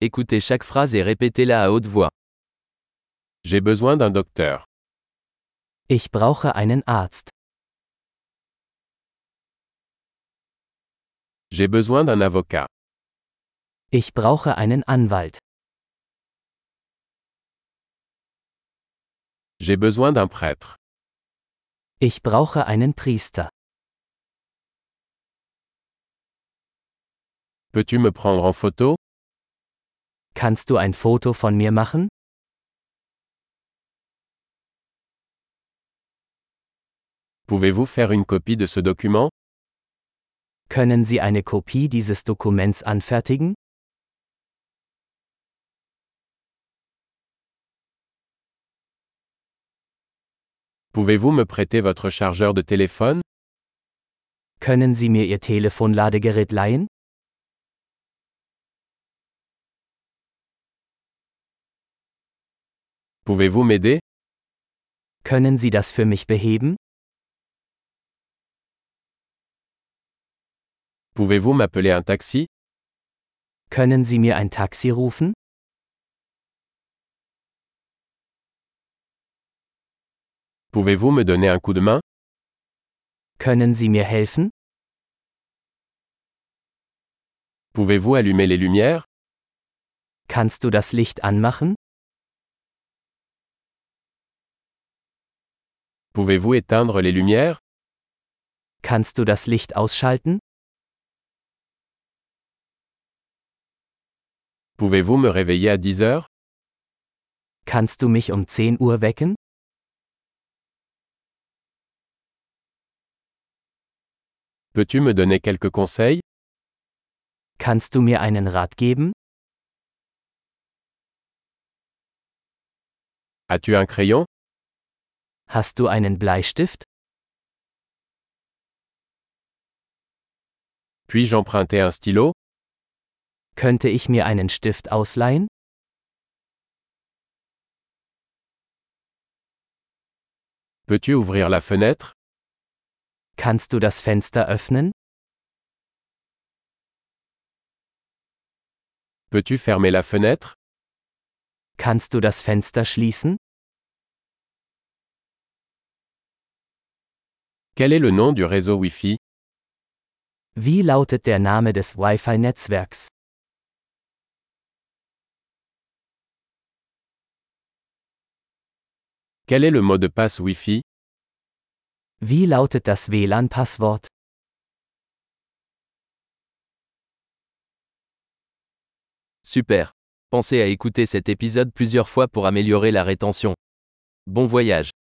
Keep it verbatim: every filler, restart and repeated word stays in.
Écoutez chaque phrase et répétez-la à haute voix. J'ai besoin d'un docteur. Ich brauche einen Arzt. J'ai besoin d'un avocat. Ich brauche einen Anwalt. J'ai besoin d'un prêtre. Ich brauche einen Priester. Peux-tu me prendre en photo? Kannst du ein Foto von mir machen? Pouvez-vous faire une copie de ce document? Können Sie eine Kopie dieses Dokuments anfertigen? Pouvez-vous me prêter votre chargeur de téléphone? Können Sie mir Ihr Telefonladegerät leihen? Pouvez-vous m'aider? Können Sie das für mich beheben? Pouvez-vous m'appeler un taxi? Können Sie mir ein Taxi rufen? Pouvez-vous me donner un coup de main? Können Sie mir helfen? Pouvez-vous allumer les lumières? Kannst du das Licht anmachen? Pouvez-vous éteindre les lumières? Kannst du das Licht ausschalten? Pouvez-vous me réveiller à dix heures? Kannst du mich um zehn Uhr wecken? Peux-tu me donner quelques conseils? Kannst du mir einen Rat geben? As-tu un crayon? Hast du einen Bleistift? Puis-je emprunter un stylo? Könnte ich mir einen Stift ausleihen? Peux-tu ouvrir la fenêtre? Kannst du das Fenster öffnen? Peux-tu fermer la fenêtre? Kannst du das Fenster schließen? Quel est le nom du réseau Wi-Fi? Wie lautet der Name des Wi-Fi-Netzwerks? Quel est le mot de passe Wi-Fi? Wie lautet das W L A N-Passwort? Super. Pensez à écouter cet épisode plusieurs fois pour améliorer la rétention. Bon voyage.